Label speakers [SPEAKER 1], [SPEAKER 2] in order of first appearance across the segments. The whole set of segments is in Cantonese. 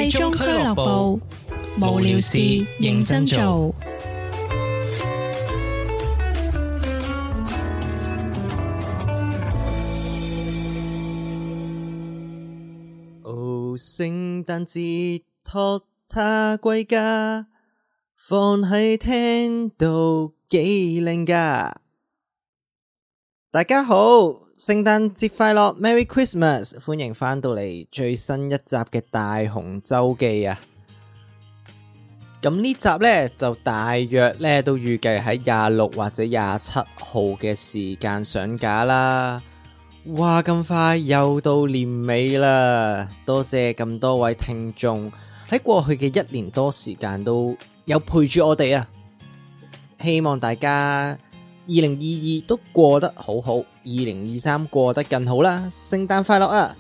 [SPEAKER 1] 廢中俱樂部，無聊事認真做。
[SPEAKER 2] 哦，聖誕節託他歸家，放喺廳度幾靚㗎。大家好，聖誕節快樂 ，Merry Christmas！ 歡迎返到嚟最新一集嘅大雄週記啊！咁呢集呢，就大約呢都預計喺26或者27號嘅時間上架啦。哇，咁快又到年尾啦！多謝咁多位聽眾喺過去嘅1年多時間都有陪住我哋啊！希望大家2022都過得好好，2023過得更好啦！聖誕快樂啊！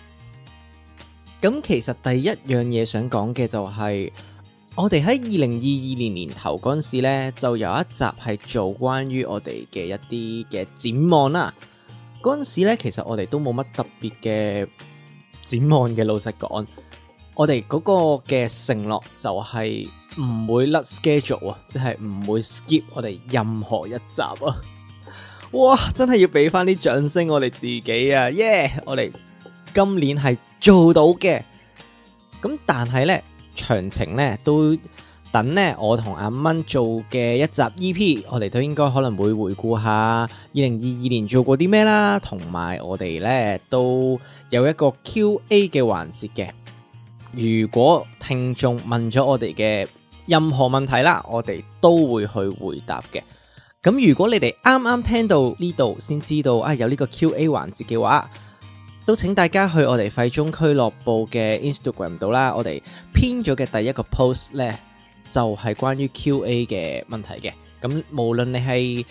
[SPEAKER 2] 咁其實第一樣嘢想講嘅就係，我哋喺2022年年頭嗰陣時呢，就有一集係做關於我哋嘅一啲嘅展望啦。嗰陣時呢，其實我哋都冇乜特別嘅展望嘅，老實講，我哋嗰個嘅承諾就係唔會甩 schedule 啊，即係唔會 skip 我哋任何一集啊！哇，真係要俾翻啲掌聲我哋自己啊！耶，我哋今年係做到嘅。咁但係呢，詳情呢都等呢我同阿蚊做嘅一集 EP， 我哋都應該可能會回顧下2022年做過啲咩啦，同埋我哋呢都有一個 Q&A 嘅環節嘅。如果聽眾問咗我哋嘅任何問題啦，我哋都會去回答嘅。咁如果你哋啱啱聽到呢度先知道有呢個 Q&A 環節嘅話，都請大家去我哋廢中俱樂部嘅 Instagram 度啦，我哋編咗嘅第一個 post 呢，就係關於 Q&A 嘅問題嘅。咁無論你係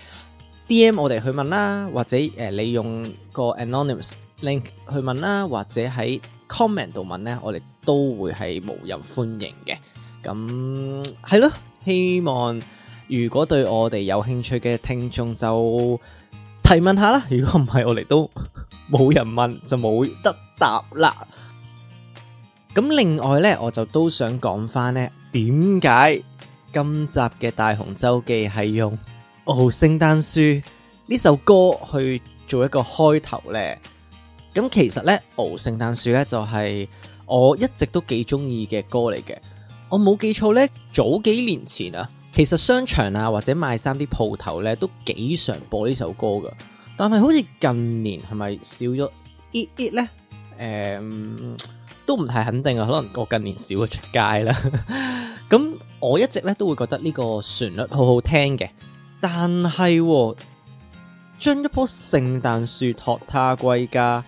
[SPEAKER 2] DM 我哋去問啦，或者你用個 anonymous link 去問啦，或者喺 comment 度問呢，我哋都會係無任歡迎嘅。咁係咯，希望如果對我哋有興趣嘅聽眾就提問下啦，如果唔係我哋都冇人問就冇得答啦。咁另外呢，我就都想講翻呢，點解今集嘅大雄週記係用《聖誕樹》呢首歌去做一個開頭呢？咁其實呢，《聖誕樹》呢就係我一直都幾中意嘅歌嚟嘅。我冇記錯呢，早幾年前啊，其實商場啊或者賣衫啲鋪頭呢都幾常播呢首歌噶。但係好似近年係咪少咗 it 呢？都唔太肯定啊，可能我近年少咗出街啦。咁我一直咧都會覺得呢個旋律好好聽嘅，但係將一棵聖誕樹託他歸家，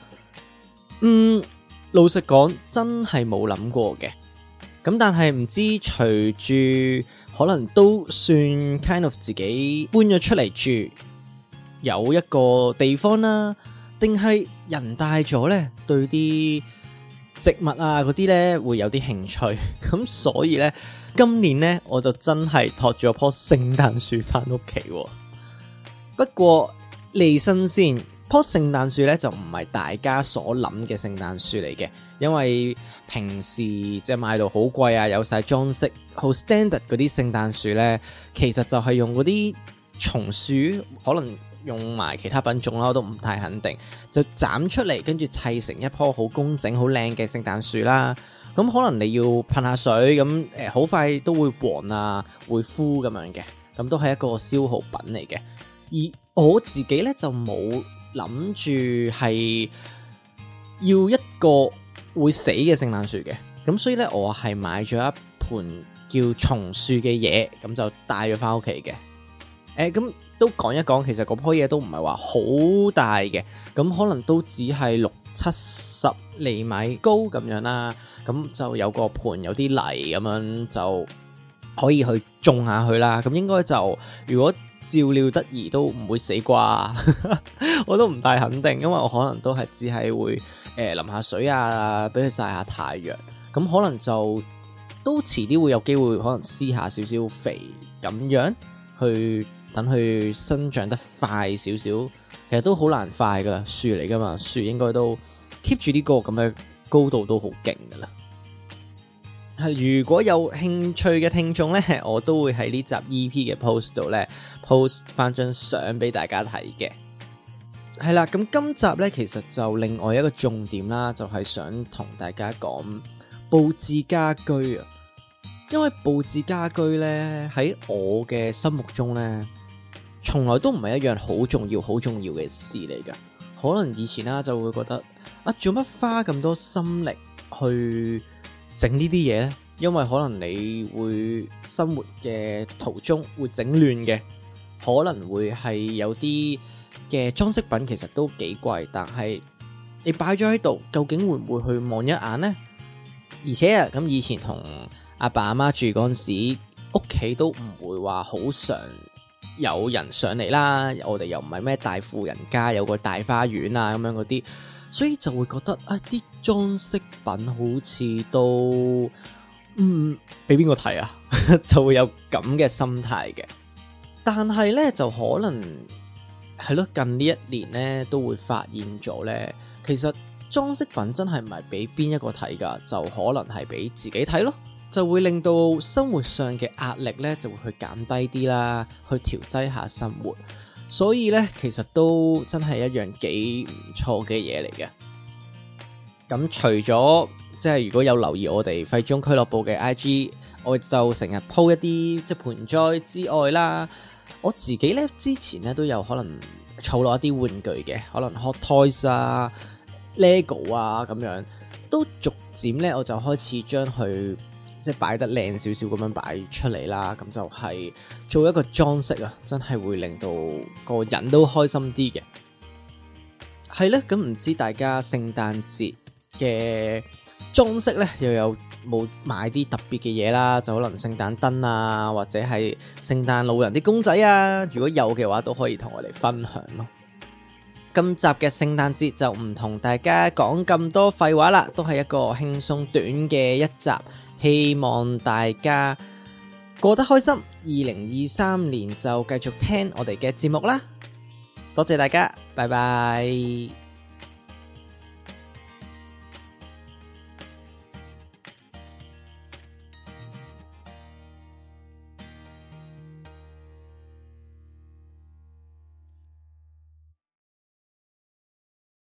[SPEAKER 2] 老實講真係冇諗過嘅。咁但係唔知隨住可能都算 kind of 自己搬咗出嚟住，有一個地方啦，定係人大咗呢，對啲植物啊嗰啲呢會有啲興趣，咁所以呢，今年呢，我就真係託咗棵聖誕樹翻屋企。不過離身先，棵聖誕樹呢就唔係大家所諗嘅聖誕樹嚟嘅，因為平時即係買到好貴啊，有晒裝飾，好 standard 嗰啲聖誕樹呢，其實就係用嗰啲松樹，可能用埋其他品種啦，我都唔太肯定，就斬出嚟，跟住砌成一棵好工整、好靚嘅聖誕樹啦。咁可能你要噴下水，咁好快都會黃啊，會枯咁樣嘅，咁都係一個消耗品嚟嘅。而我自己呢，就冇諗住係要一個會死嘅聖誕樹嘅，咁所以呢，我係買咗一盆叫松樹嘅嘢，咁就帶咗翻屋企嘅。咁都講一講，其實嗰棵嘢都唔係話好大嘅，咁可能都只係60-70厘米高咁樣啦。咁就有個盆，有啲泥咁樣就可以去種下去啦。咁應該就如果照料得宜都唔會死啩，我都唔太肯定，因為我可能都係只係會淋下水啊，俾佢曬下太陽。咁可能就都遲啲會有機會，可能施下少少肥咁樣去。等佢生長得快少少，其實都好難快噶啦，樹嚟噶嘛，樹應該都 keep 住呢個咁嘅高度都好勁噶啦。 如果有興趣嘅聽眾呢，我都會喺呢集 EP 嘅 post 度呢 post 翻張相俾大家睇嘅。係啦，咁今集呢，其實就另外一個重點啦，就係想同大家講佈置家居啊。因為佈置家居呢，喺我嘅心目中呢，從來都唔係一樣好重要嘅事嚟噶。可能以前啦就會覺得做乜花咁多心力去整呢啲嘢呢？因為可能你會生活嘅途中會整亂嘅，可能會係有啲嘅裝飾品其實都幾貴，但係你擺咗喺度，究竟會唔會去望一眼呢？而且咁以前同阿爸阿媽住嗰陣時，屋企都唔會話好常有人上嚟啦。我哋又唔係咩大富人家，有個大花園啊咁樣嗰啲，所以就會覺得啲裝飾品好似都俾邊個睇啊？就會有咁嘅心態嘅。但係呢，就可能係咯，近呢一年呢都會發現咗呢，其實裝飾品真係唔係俾邊一個睇噶，就可能係俾自己睇咯。就會令到生活上嘅壓力呢就會去減低啲啦，去調劑下生活。所以呢，其實都真係一樣幾唔錯嘅嘢嚟嘅。咁除咗即係如果有留意我哋廢中俱樂部嘅 IG， 我就成日 po 一啲即係盆栽之外啦，我自己呢之前呢都有可能儲落一啲玩具嘅，可能 Hot Toys 啊、Lego 啊咁樣，都逐漸呢我就開始將佢即係擺得靚少少咁樣擺出嚟啦，咁就係做一個裝飾啊，真係會令到個人都開心啲嘅。係咧，咁唔知大家聖誕節嘅裝飾咧，又有冇買啲特別嘅嘢啦？就可能聖誕燈啊，或者係聖誕老人啲公仔啊，如果有嘅話，都可以同我哋分享咯。今集嘅聖誕節就唔同大家講咁多廢話啦，都係一個輕鬆短嘅一集。希望大家過得開心，2023年就繼續聽我哋嘅節目啦。多謝大家，拜拜。